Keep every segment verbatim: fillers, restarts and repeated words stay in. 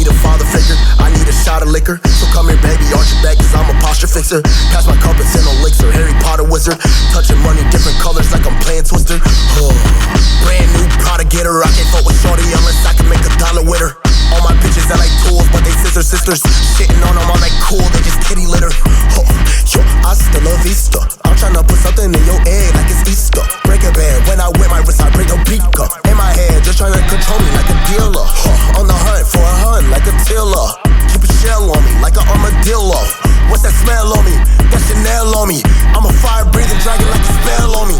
a father figure. I need a shot of liquor, so come here, baby, arch your back, cause I'm a posture fixer. Pass my cup and send elixir, Harry Potter wizard. Touching money, different colors like I'm playing Twister. Oh. Brand new Prada getter, I can't fuck with shorty unless I can make a dollar with her. All my bitches that like tools, but they sister sisters. Shitting on them, I'm like cool, they just kitty litter. Oh. Yo, hasta la vista. I'm tryna put something in your egg like it's Easter. Break a band, when I wear my wrist, I break a beaker. In my head, just tryna control me like a dealer. Huh. On the hunt for a hun like a tiller. Keep a shell on me like an armadillo. What's that smell on me? That Chanel on me. I'm a fire-breathing dragon like a spell on me.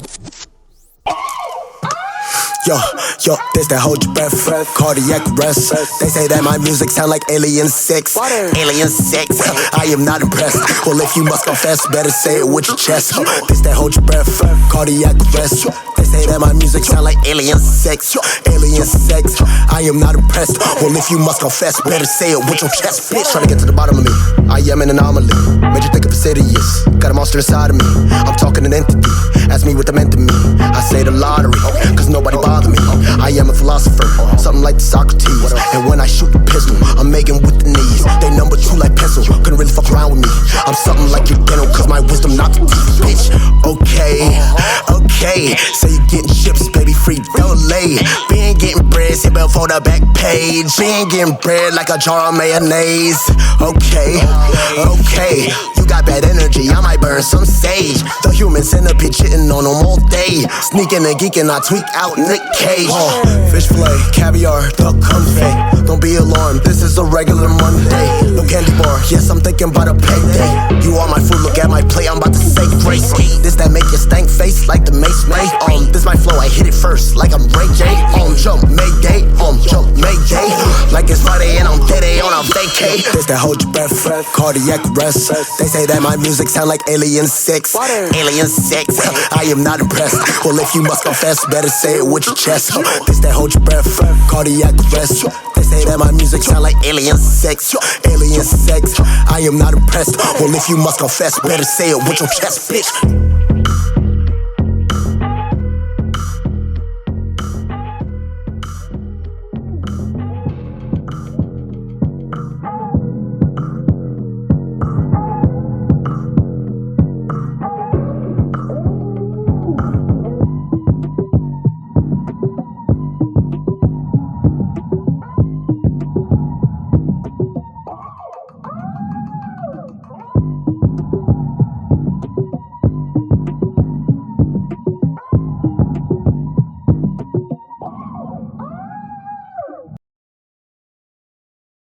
Yo, yo, this that hold your breath, cardiac arrest. They say that my music sound like Alien six. Alien six, I am not impressed. Well, if you must confess, better say it with your chest. This that hold your breath, cardiac arrest. They say that my music sound like Alien six. Alien six, I am not impressed. Well, if you must confess, better say it with your chest. Bitch, trying to get to the bottom of me. I am an anomaly. Made you think of insidious. Got a monster inside of me. I'm talking an entity. Ask me what they meant to me. I say the lottery, cause nobody bothers me. I am a philosopher, something like Socrates. And when I shoot the pistol, I'm making with the knees. They number two like pencil, couldn't really fuck around with me. I'm something like your dental, cause my wisdom not the teeth, bitch. Okay, okay, so you getting chips, baby, free delay. Been getting bread, sit back for the back page. Been getting bread like a jar of mayonnaise. Okay, okay, you got bad energy, I might burn some sage. The human centipede shitting on them all day. Sneaking and geeking, I tweak out Nick Cage. Oh, fish fillet, caviar, duck confit. Don't be alarmed, this is a regular Monday. No candy bar, yes, I'm thinking about a payday. You are my food, look at my plate, I'm about to say grace. This that make your stank face like the Mace May. Um, this my flow, I hit it first like I'm Ray J. Um, jump, Mayday, um, jump, Mayday. Like it's Friday and I'm dead on a vacay. This that hold your breath, cardiac arrest. They say that my music sound like Alien six. Alien six, I am not impressed. Well, if you must confess, better say it with your chest. This that hold your breath, cardiac arrest. They say that my music sound like Alien six. Alien six, I am not impressed. Well, if you must confess, better say it with your chest, bitch.